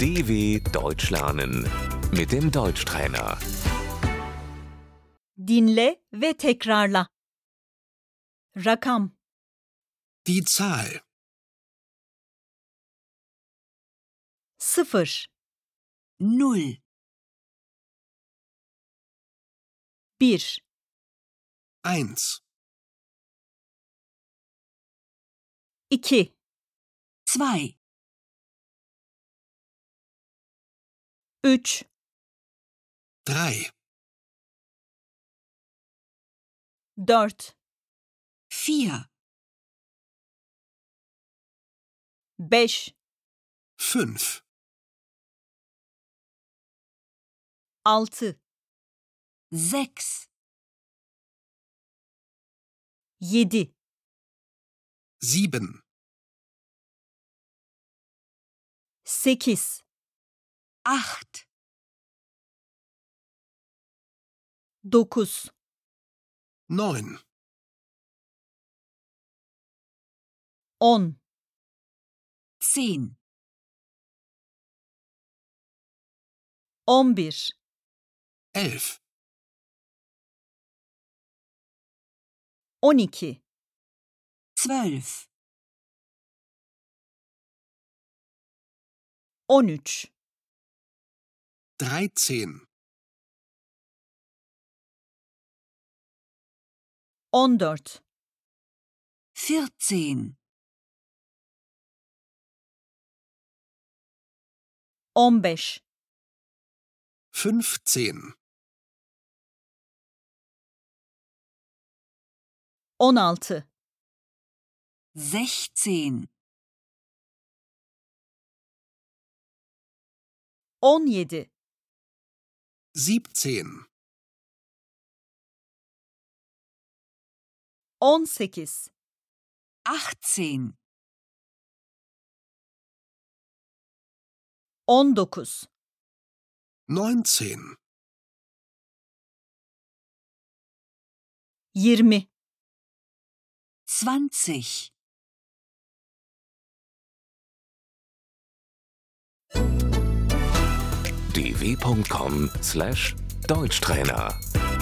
DW Deutsch lernen mit dem Deutschtrainer. Dinle ve tekrarla. Rakam, Die Zahl 0, 0, 1, 1, 2, 2, 3, 3, 4, 4, 5, 5, 6, 6, 7, 7, 8, 8, 9, 9, 10, 10, 11, 11, 12, 12, 13, 13, 14, 14, 15, 15, 16, 16, 17, 17, 18, 18, 19, 19, 20, 20. dw.com/Deutschtrainer